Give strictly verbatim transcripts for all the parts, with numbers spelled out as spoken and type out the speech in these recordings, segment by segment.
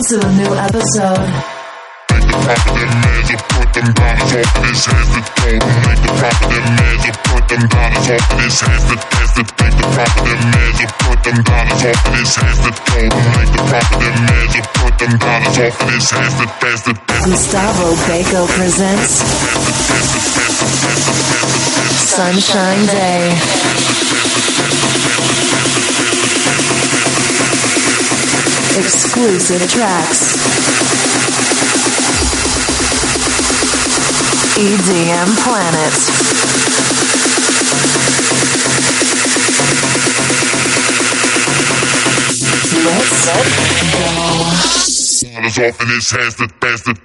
to a new episode. Make the proper them meds or put them dollars off of his hands to total. Make the proper them meds or put them dollars off of his hands to dance to. Make the proper them meds or put them dollars off of his hands to total. Make the proper them meds or put them dollars off of his hands to dance to. Gustavo Baco presents Sunshine Day. Exclusive tracks. E D M Planet. Let's go. Dollars off in his hands to dance to.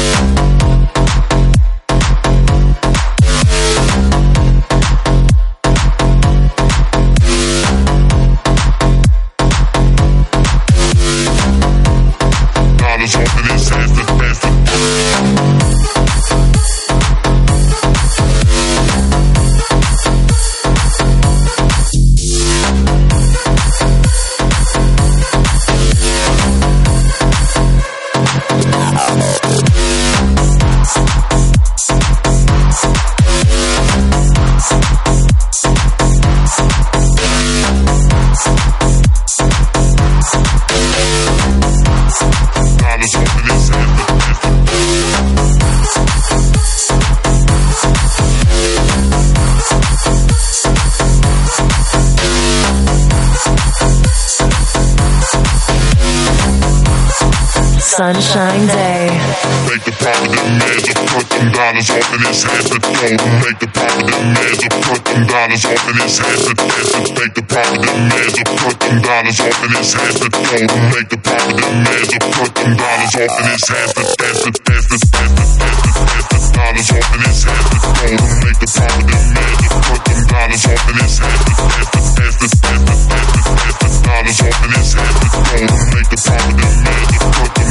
Sunshine Day. Make the proper them meds or put them dollars off in his hands to total. Make the proper them meds or put them dollars off in his hands to dance to. Make the proper them meds or put them dollars off in his hands to total. Make the proper them meds or put them dollars off in his hands to dance to dance to dance to dance to dance to dollars off in his hands to total. Make the proper them meds or put them dollars off in his hands to dance to dance to dance to dance to dance to dollars off in his hands to total. Make the proper them meds or put them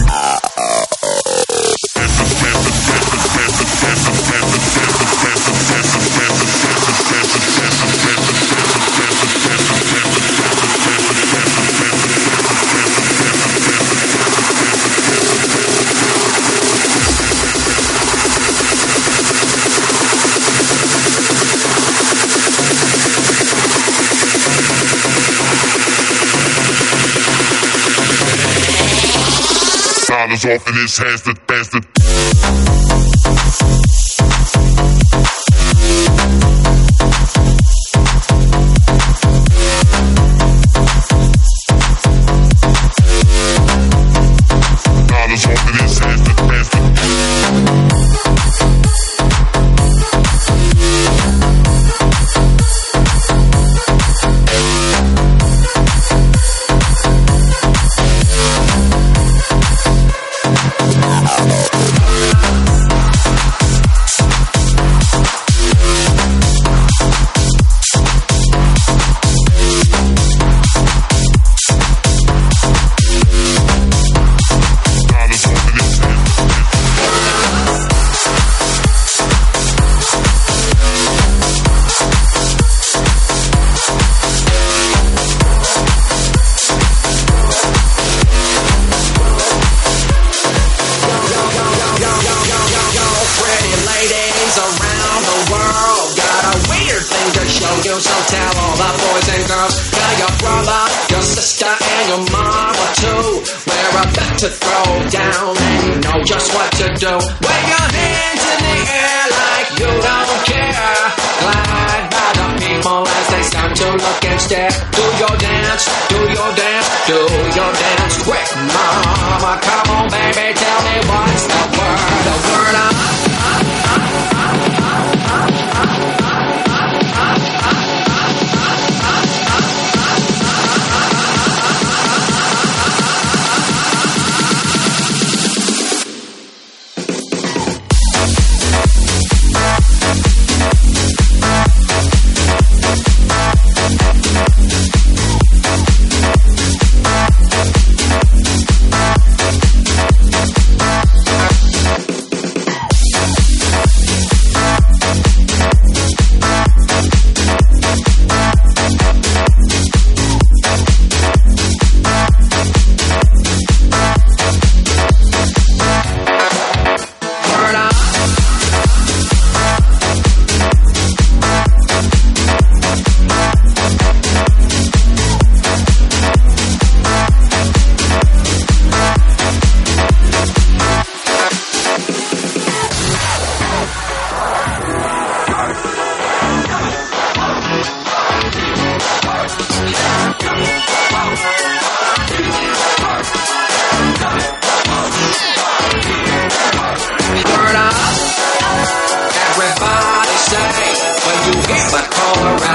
dollars off in his hands to dance to. To throw down and you know just what to do. Wave your hands in the air like you don't care. Glide by the people as they start to look and stare. Do your dance, do your dance, do your dance quick, mama. Come on, baby, tell me what's the word. The word of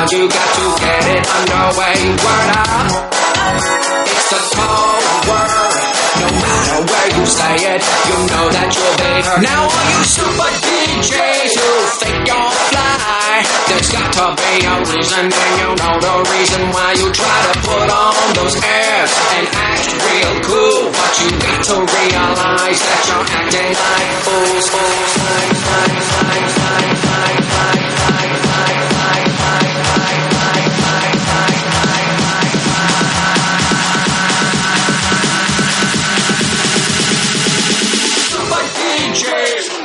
but you got to get it underway. Word up, it's a cold word. No matter where you say it, you know that you'll be heard. Now all you super D Js who think you're fly, there's got to be a reason, and you know the reason why you try to put on those airs and act real cool. But you got to realize that you're acting like fools. Fools, like, like, like, like, like, like, like, like, like, like, like, like, like, like, like, Super D Js.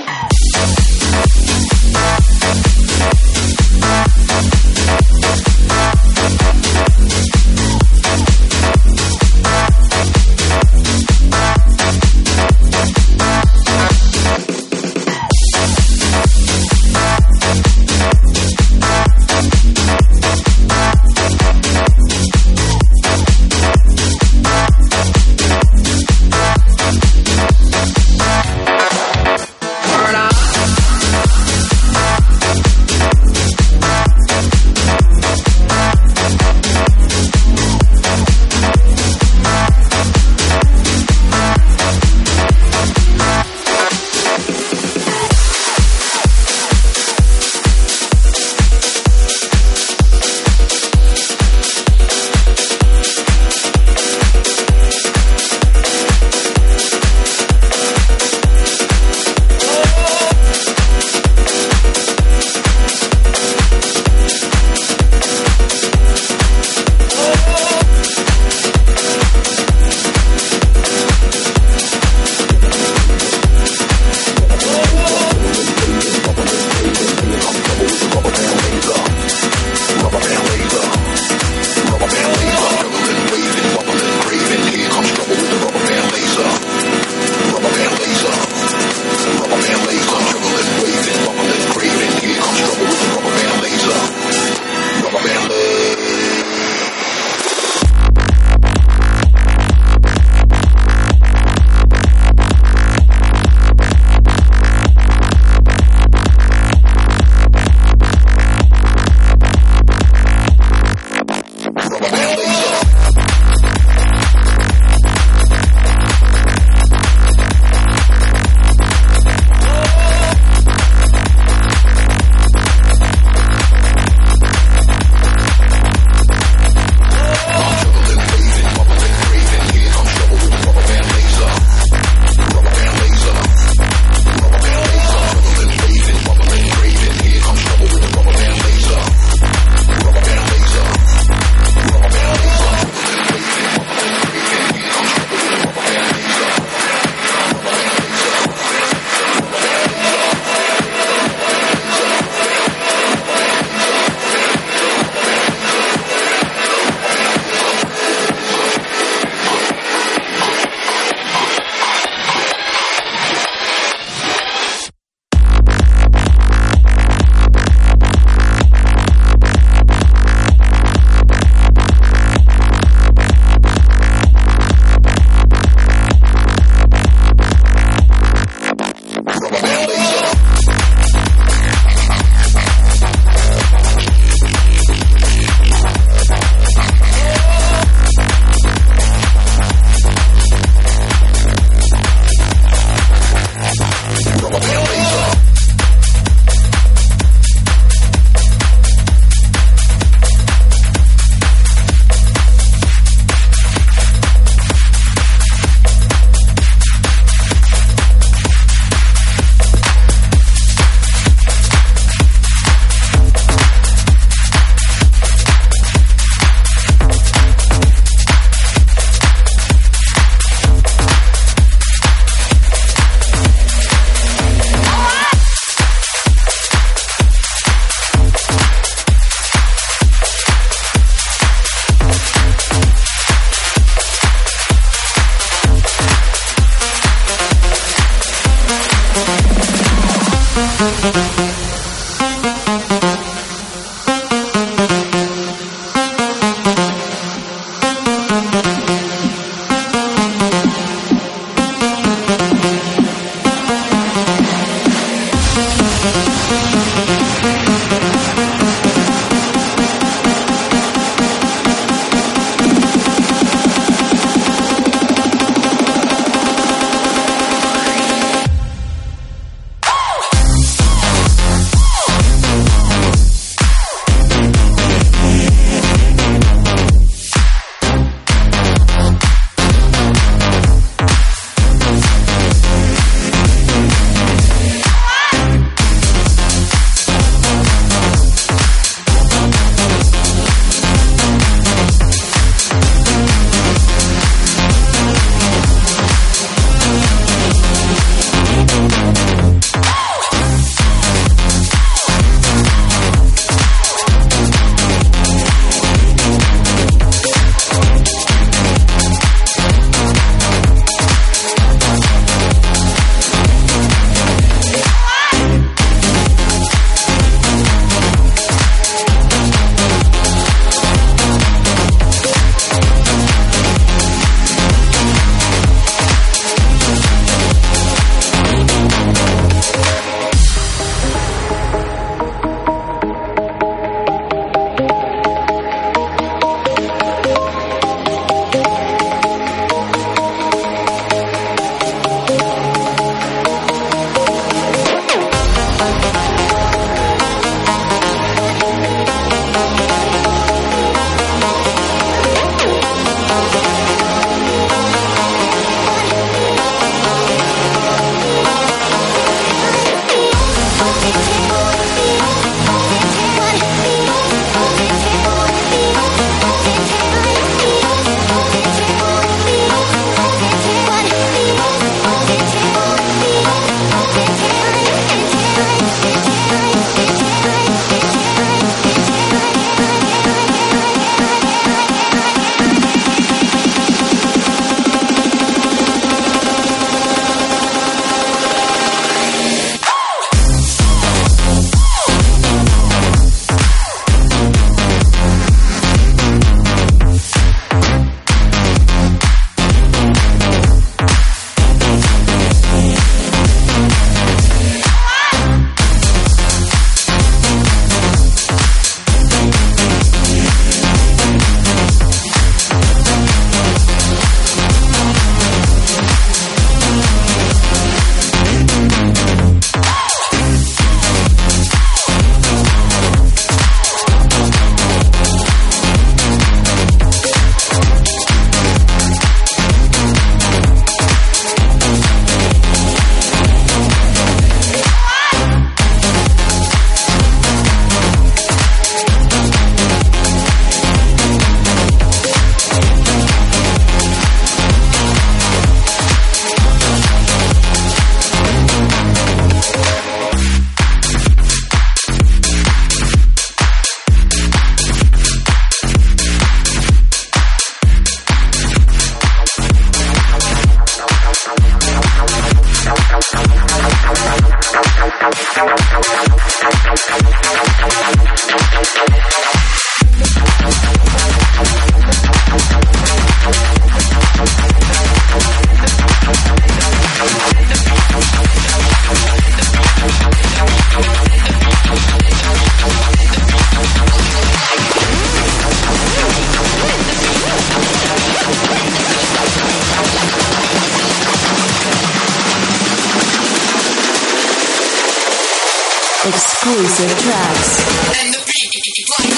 Exclusive tracks. And the beat,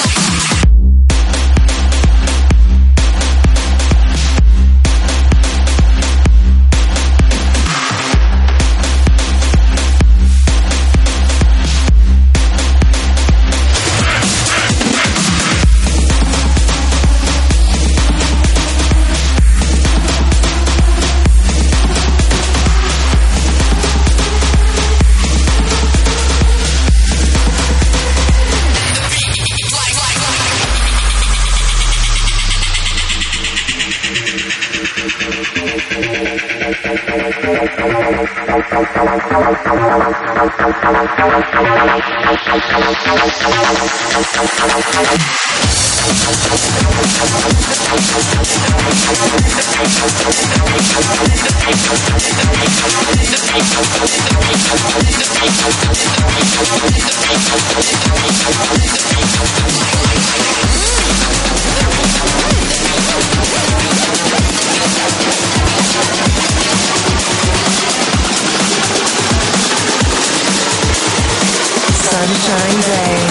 Sunshine Day.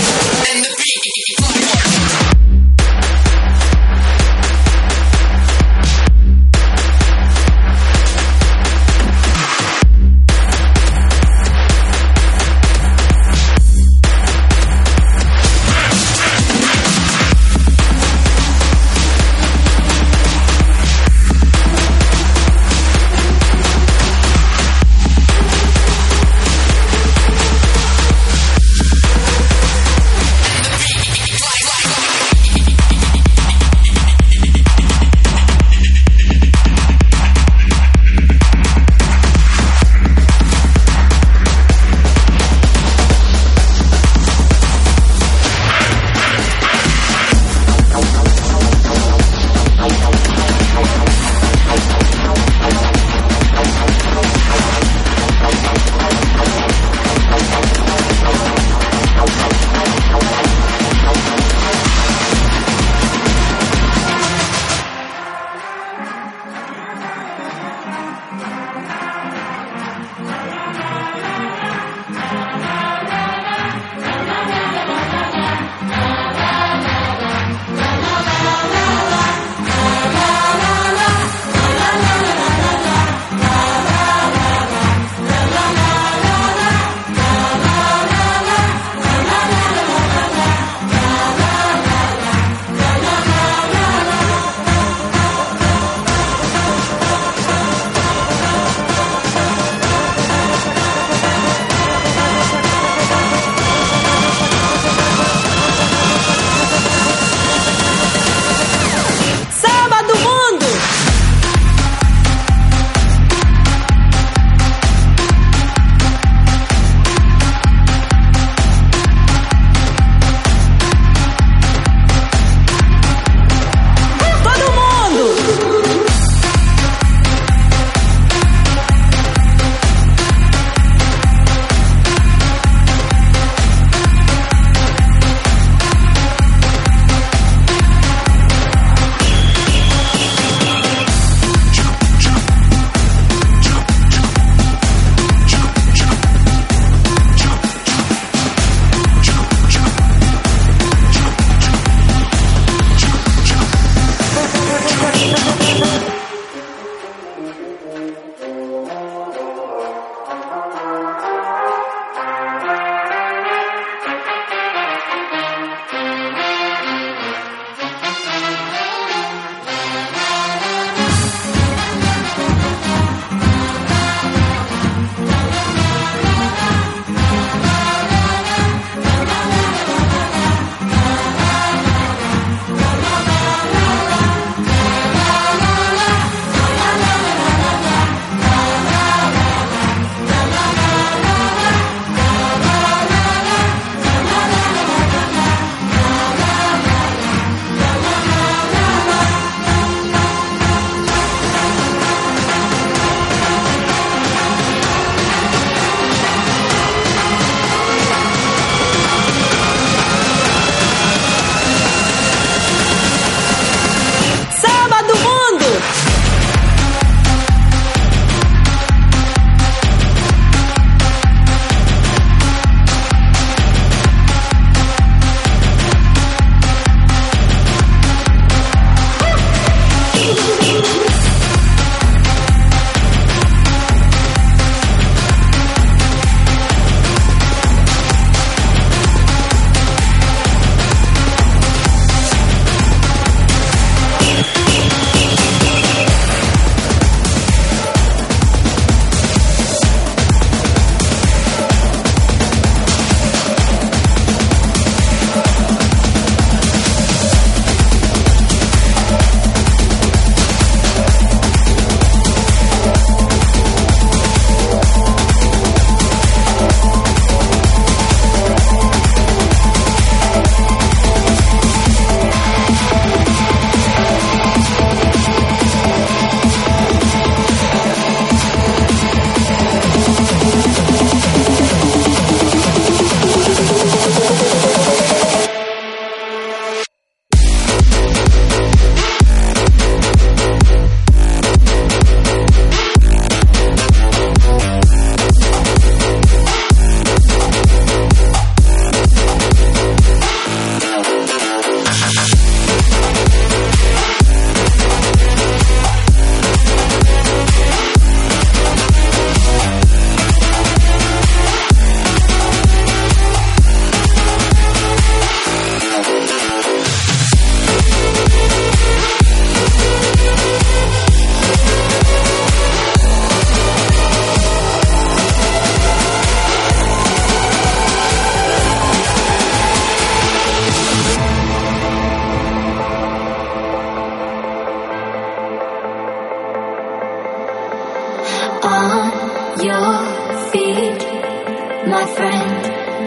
my friend.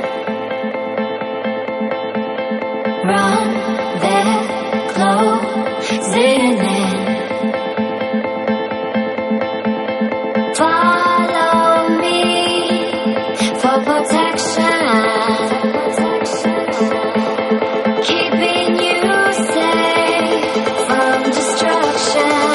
Run, they're closing in. Follow me for protection, keeping you safe from destruction.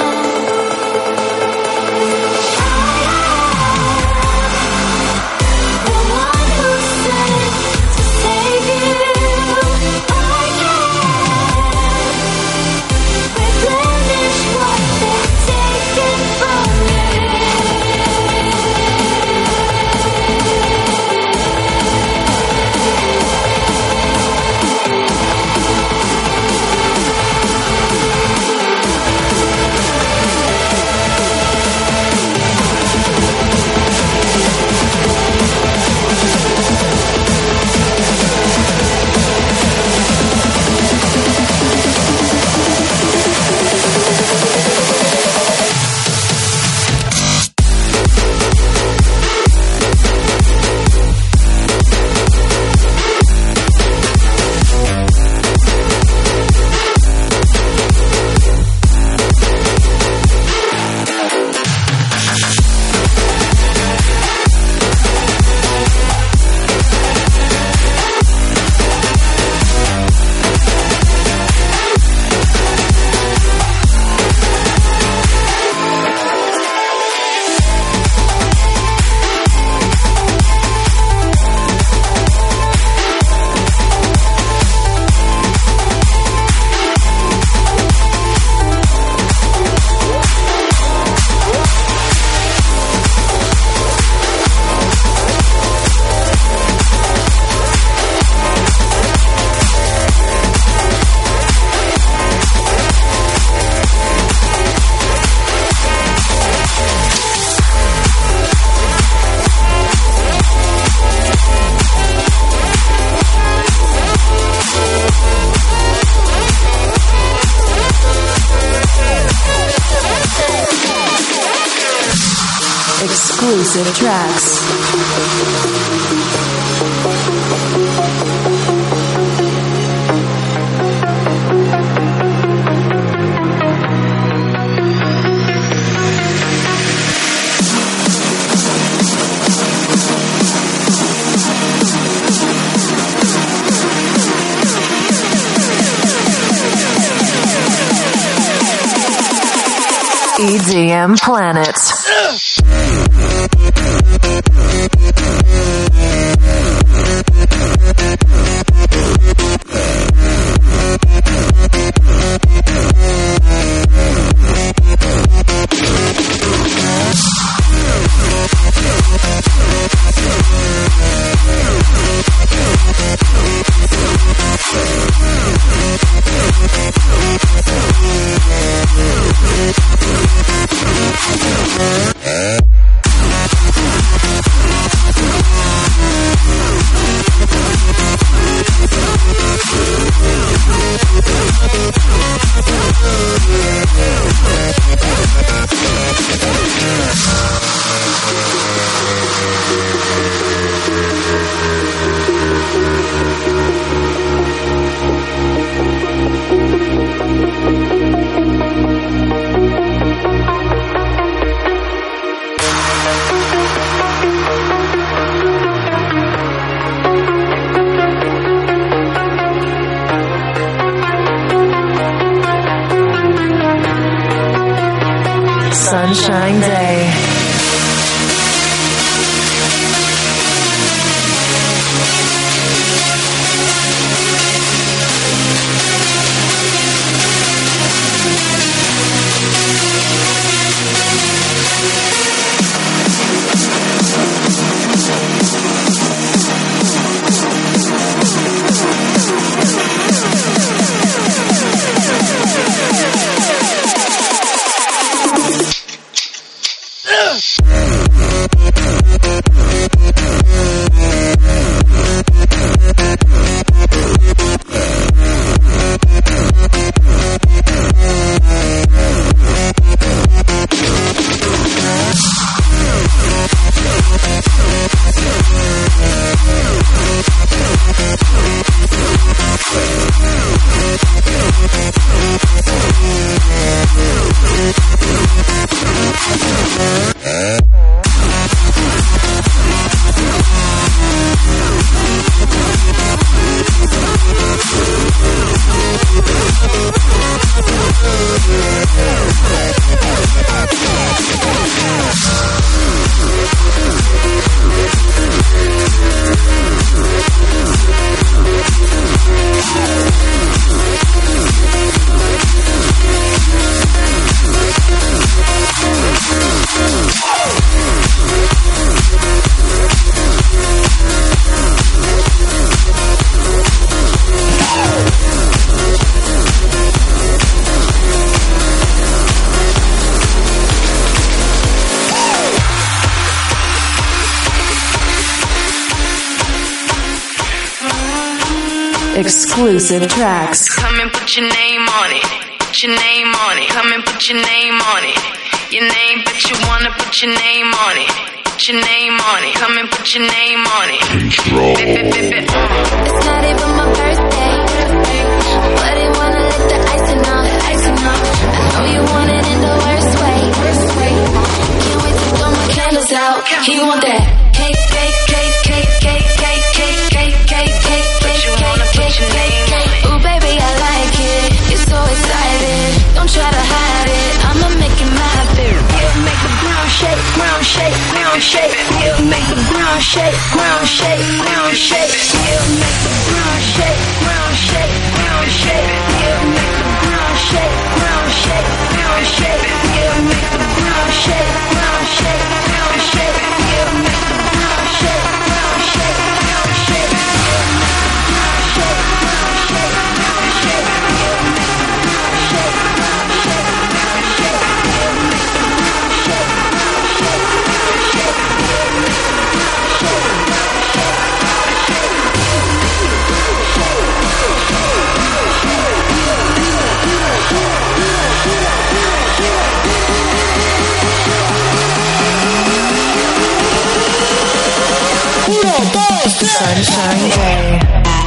Exclusive tracks. E D M Planet. Sunshine Day. Exclusive tracks. Come and put your name on it. Put your name on it. Come and put your name on it. Your name, but you wanna put your name on it. Put your name on it. Come and put your name on it. Control. Bip, bip, bip, bip. It's not even my birthday, but he wanna lick the icing off. Icing off. I know you want it in the worst way. Can't wait to blow my candles out. He want that cake, cake, cake, cake, cake, cake, cake, cake, cake, cake, cake, cake, cake, cake. Ooh, baby, I like it. You're so excited. Don't try to hide it. I'ma make it my favorite. He'll make the ground shake, ground shake, ground shake. He'll make the ground shake, ground shake, ground shake. He'll make the ground shake, ground shake, ground shake. He'll make the ground shake, ground shake, ground shake. He'll make the ground shake, ground shake, ground shake. He'll make the ground shake, ground shake, ground shake. He'll make the ground shake, ground shake, ground shake. He'll make the ground shake, ground shake, ground shake. He'll make the ground shake, ground shake, ground shake. He'll make the ground shake, ground shake, ground shake. Sunshine Day.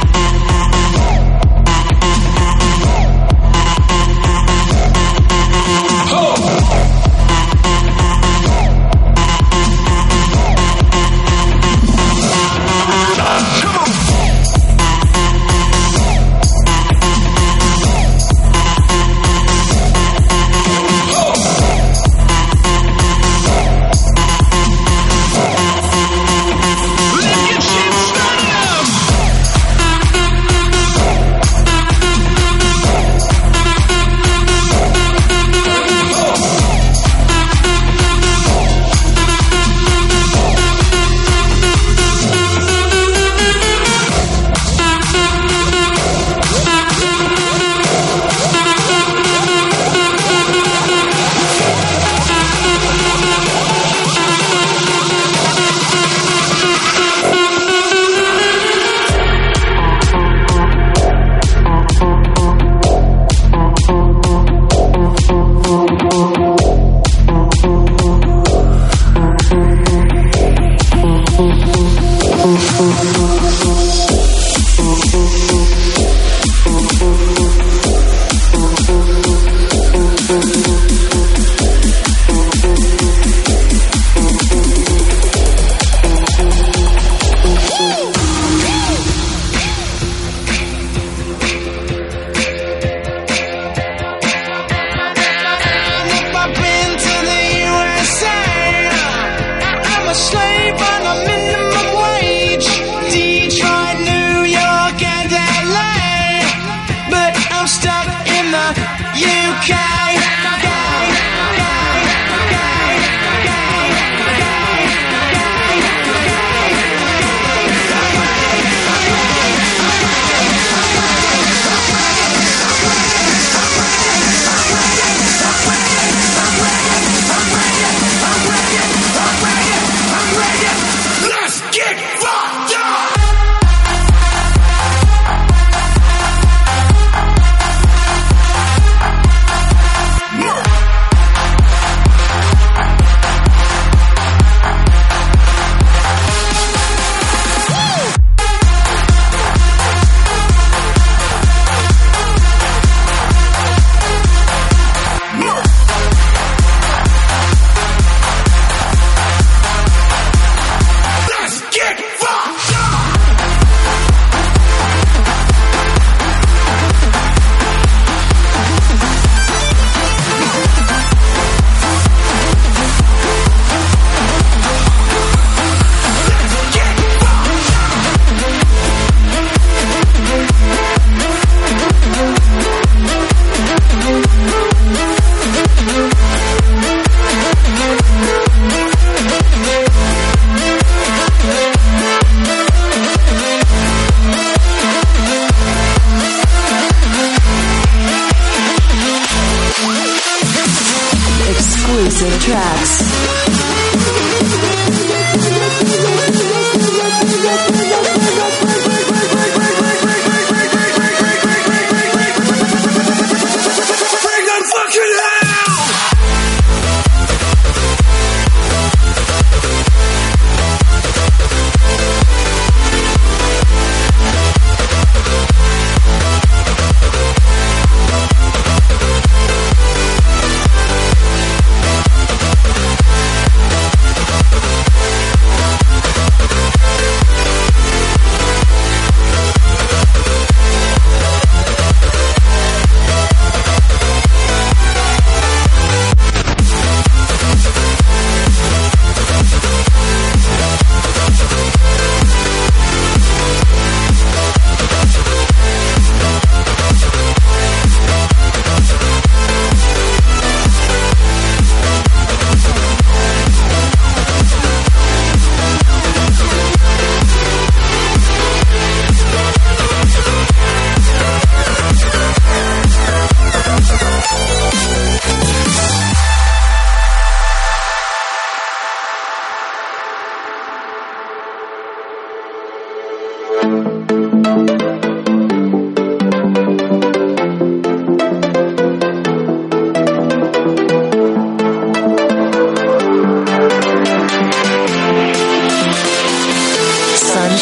exclusive tracks.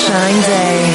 Sunshine Day.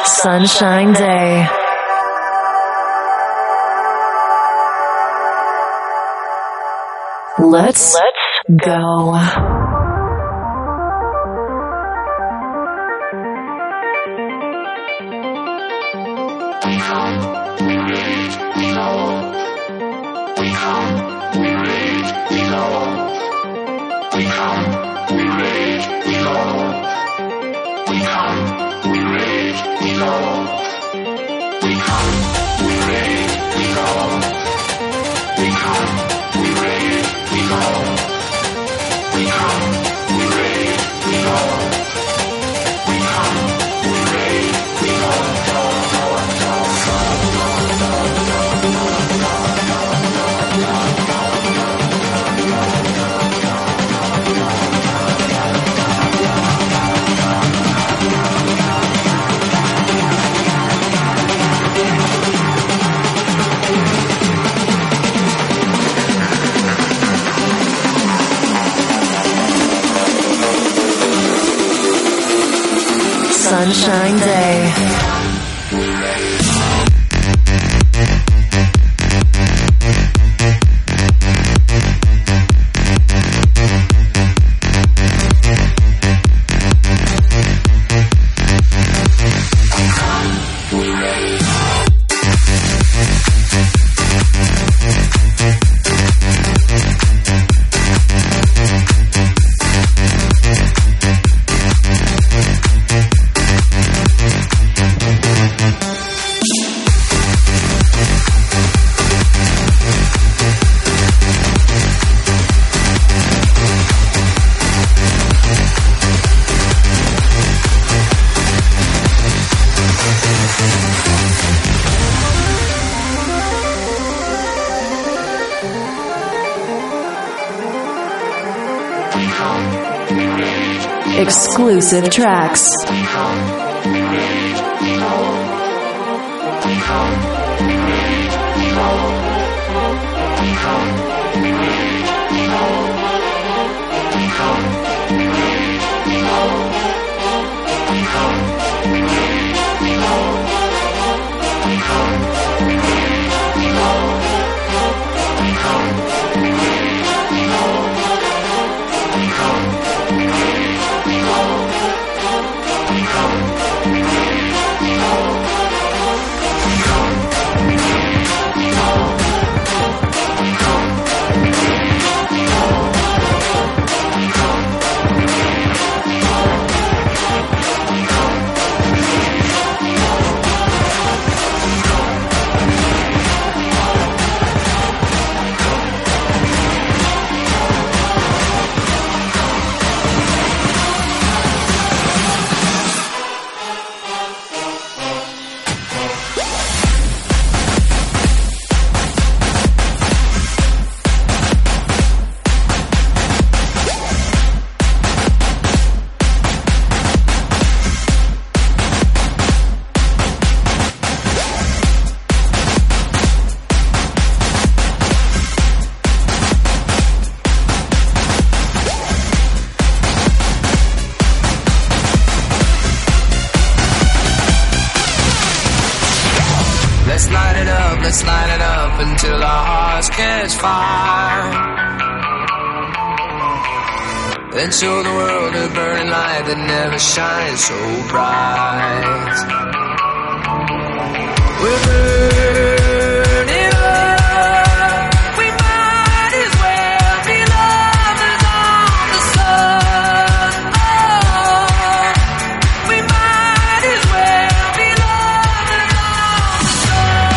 Sunshine Day. Let's, Let's go. We come, we rage, we go. We come, we rage, we go. We come, we rage, we go. We come, we rage, we go. We come, we rage, we go. We come, we rage, we go. We come, we rage, we go. We come, we rage, we go. Sunshine Day. Exclusive tracks. Let's light it up until our hearts catch fire. Then show the world a burning light that never shines so bright. We're burning up. We might as well be lovers on the sun. Oh, we might as well be lovers on the sun.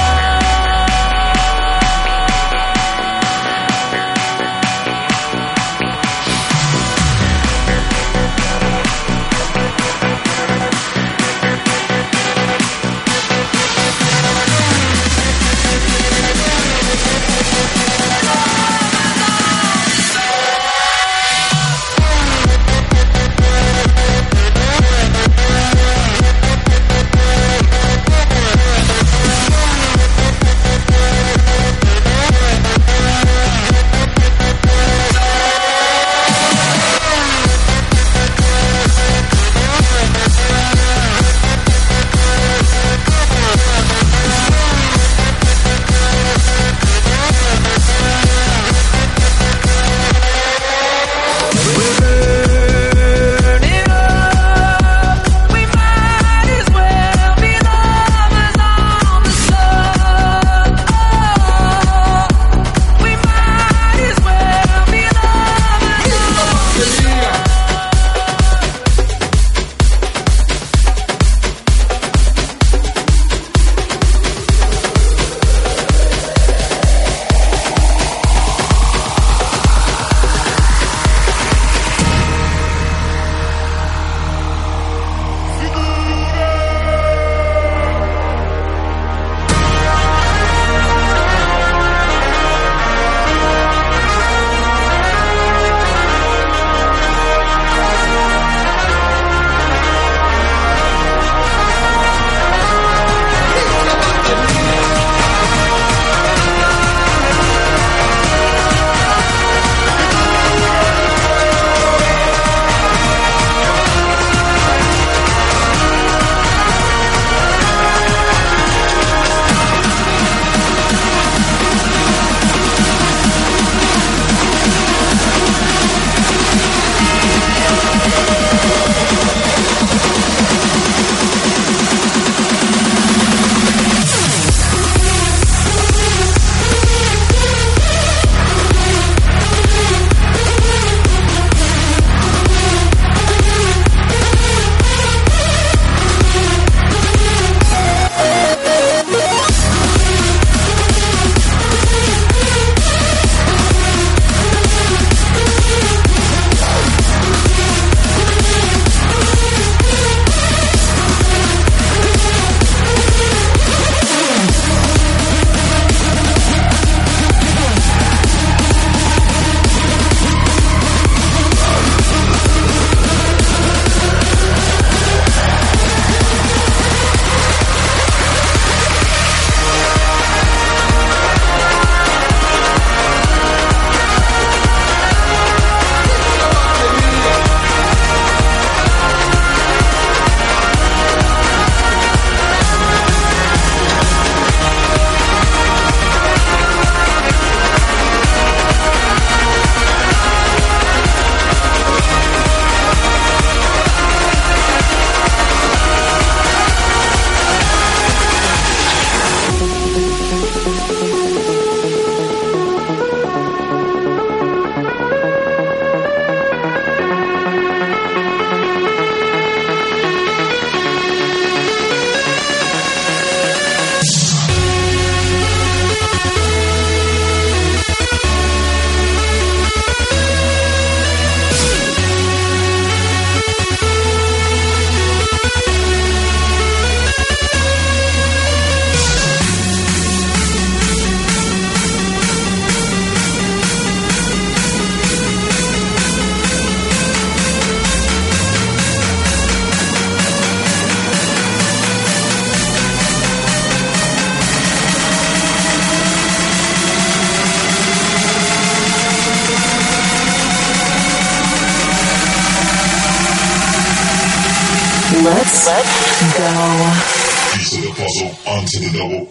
Let's, let's go. Piece of the puzzle onto the double.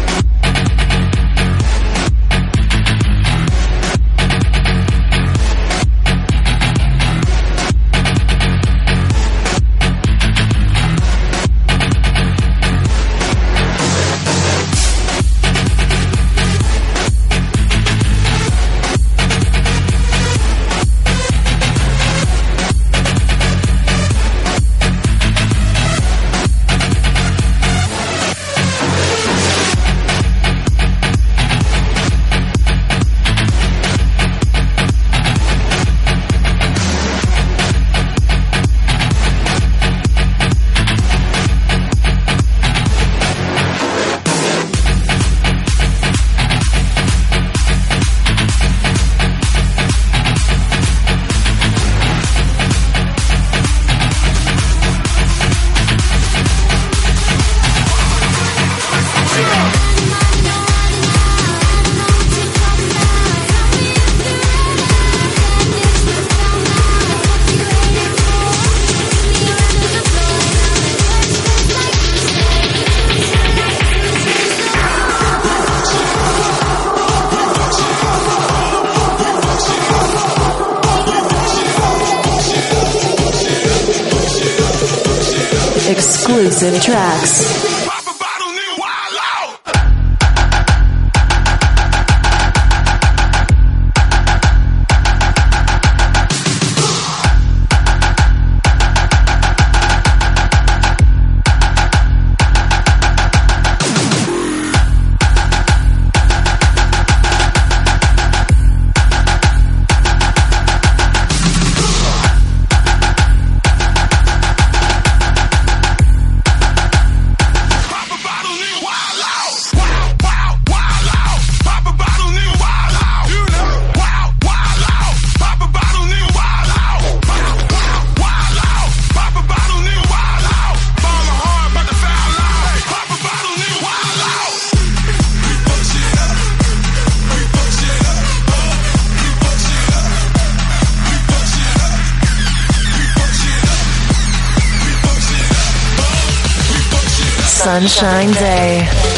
Exclusive tracks. Sunshine Day.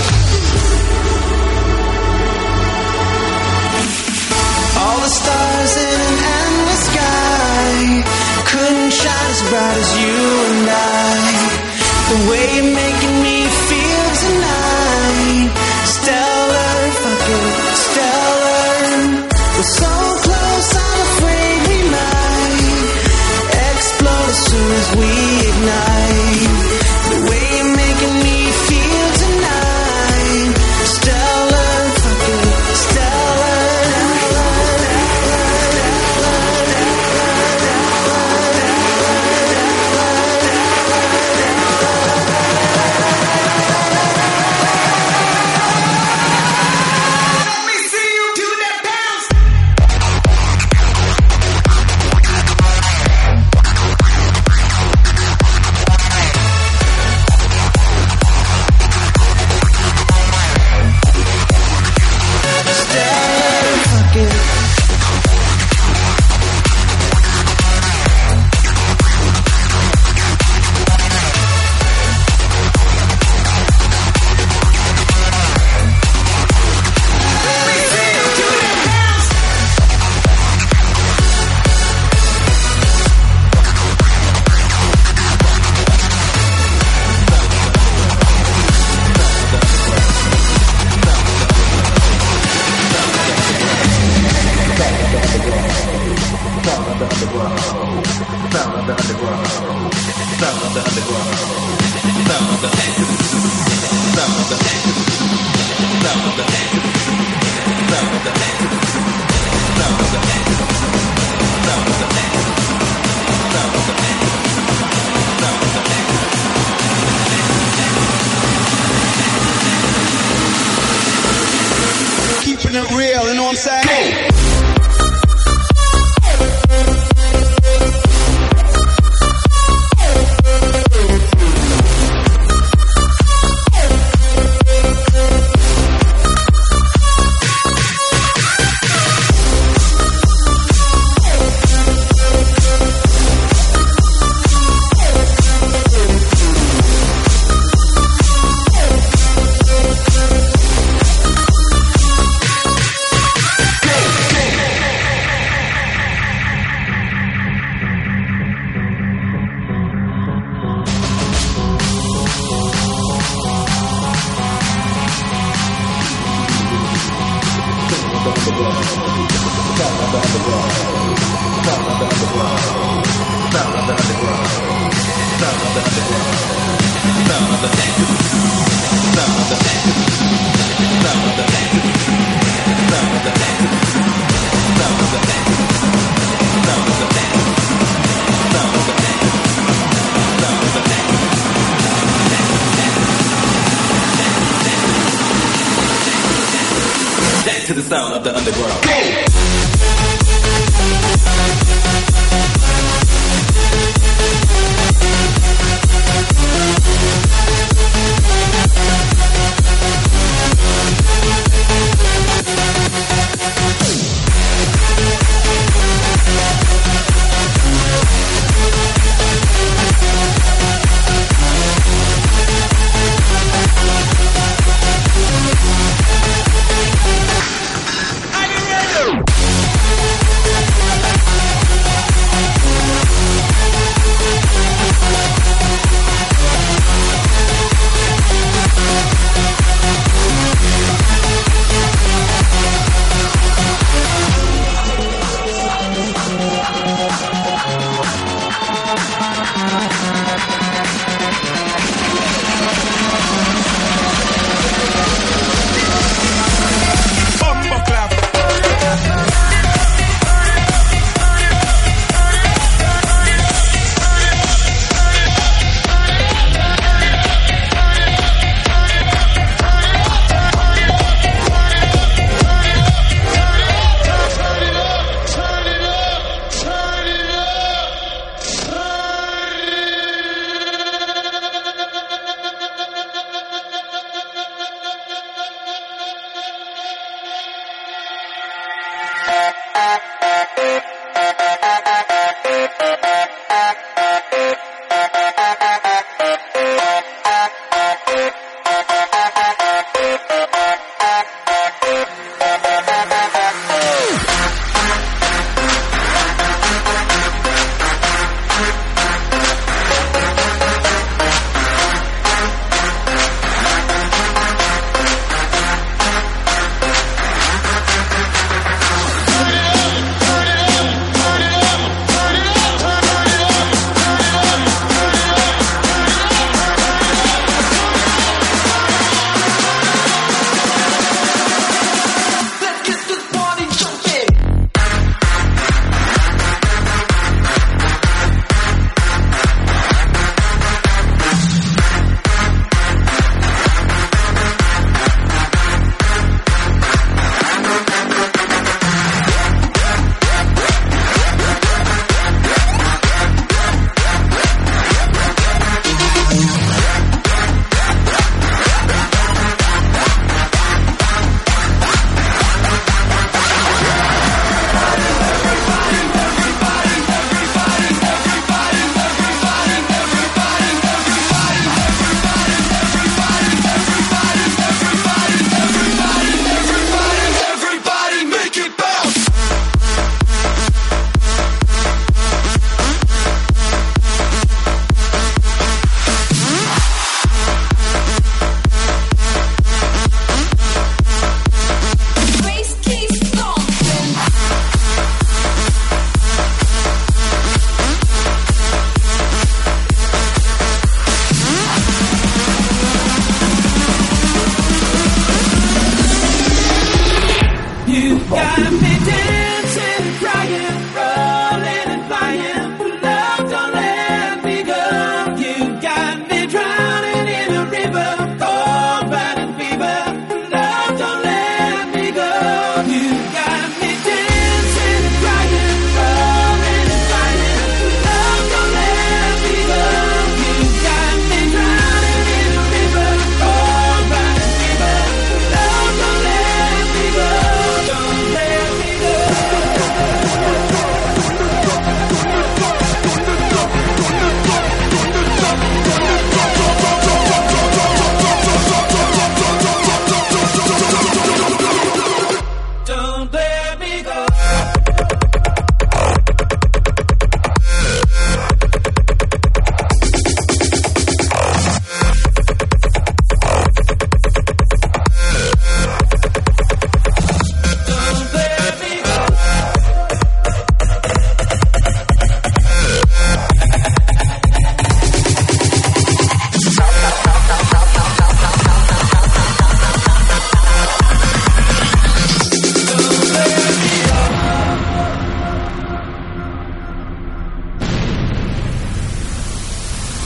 All the stars in an endless sky couldn't shine as bright as you and I. The way you're making me feel tonight, stellar, fucking stellar. We're so close, I'm afraid we might explode as soon as we ignite. The way you're making me feel tonight, stellar, fucking stellar. Let me see you do that bounce. Stellar, fucking. Keeping it real, you know what I'm saying? underground. Sound of the underground. Sound of the underground. Sound of the underground. Sound of the underground. Sound of the underground. Sound of the underground. Sound of the underground. Sound of the underground. Sound of the underground. Sound of the underground. Dance to the sound of the underground. Go!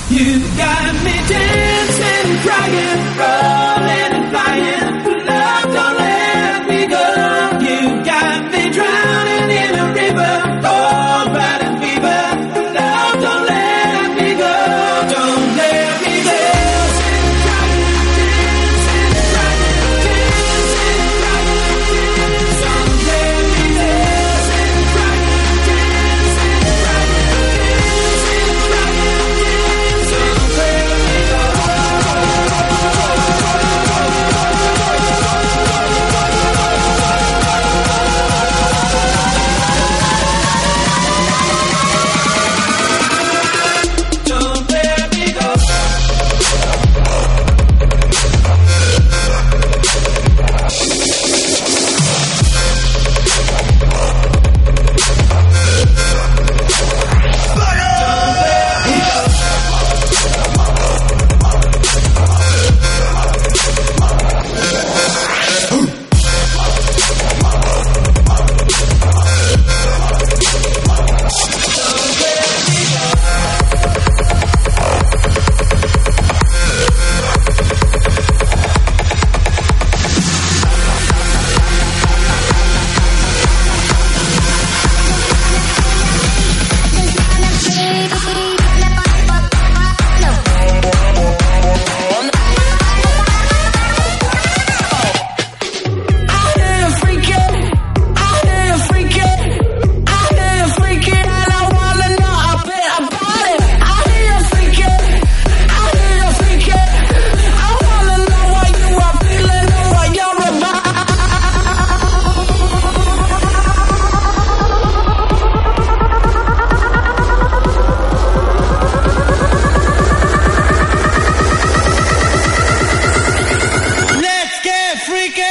You got me dancing, crying, rolling and flying. Love, don't let me go. You got me drowning in a river, cold blood and fever. Love, don't let me go. Don't let me go. Dancing, crying, dancing, crying, dancing, crying, dancing. Don't let me dancing, crying, dancing, crying, dancing, crying, dancing. Don't let me go. Don't let me go. Let's get freaky!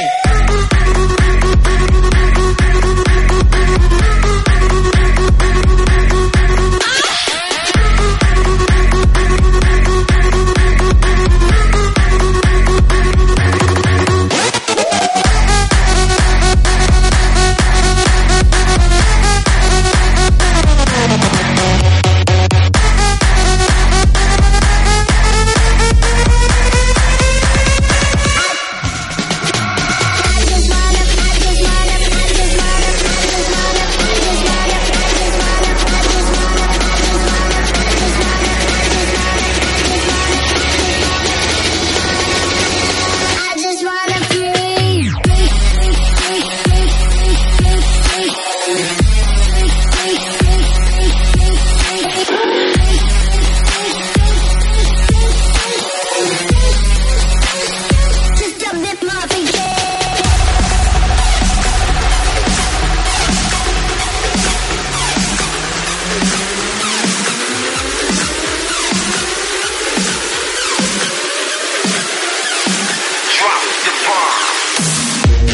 I just wanna breathe. Just a bit more freaky. Drop the bomb.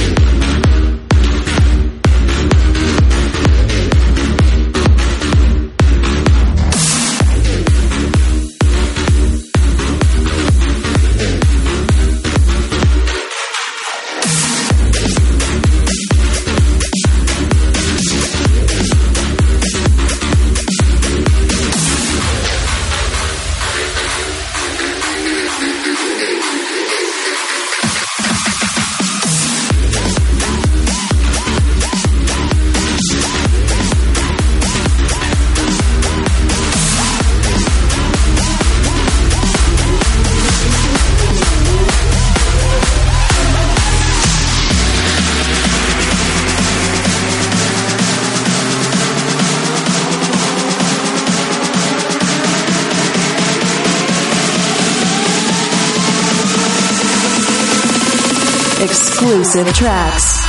Exclusive tracks.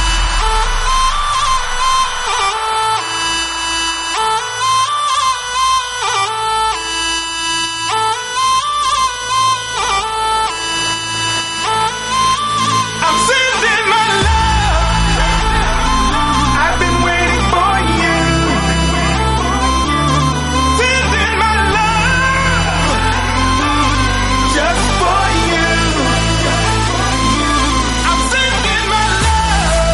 I'm sending my love. I've been waiting for you. Sending my love just for you. I'm sending my love.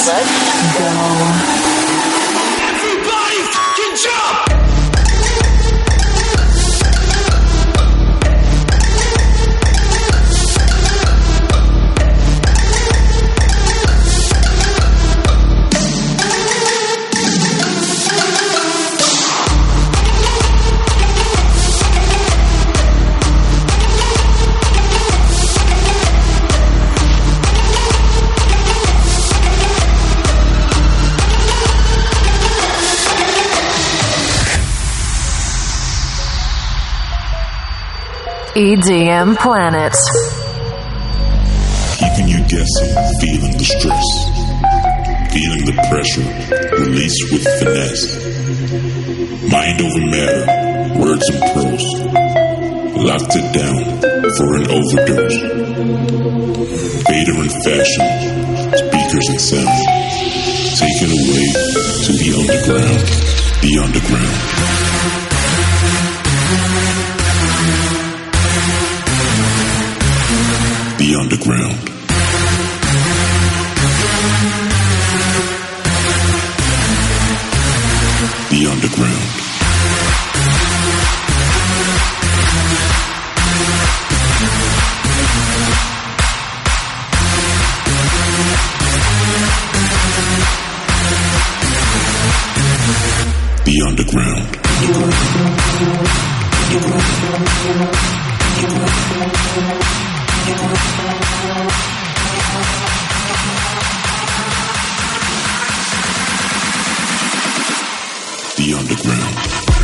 Let's go. Everybody fucking jump! E D M Planet. Keeping you guessing, feeling the stress, feeling the pressure, release with finesse. Mind over matter, words and prose. Locked it down for an overdose. Vader in fashion, speakers and sound. Taken away to the underground, the underground. The underground. The underground. The underground. The underground.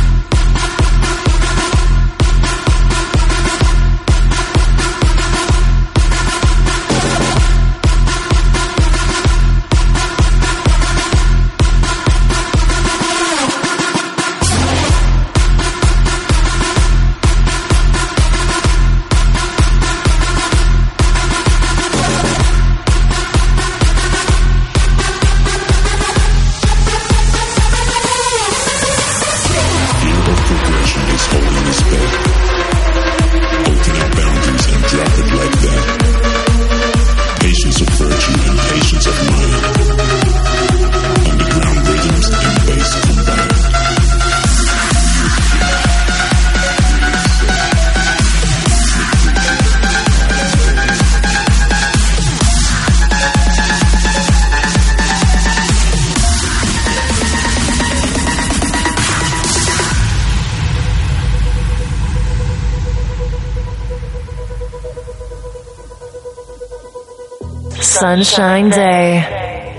Sunshine Day.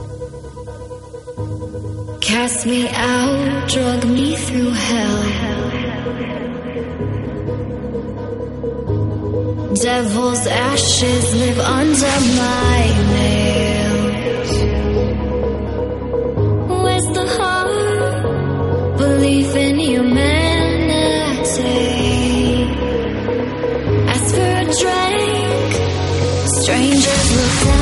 Cast me out, drug me through hell. Devil's ashes live under my nails. Where's the heart? Belief in humanity. Ask for a drink. Strangers look down.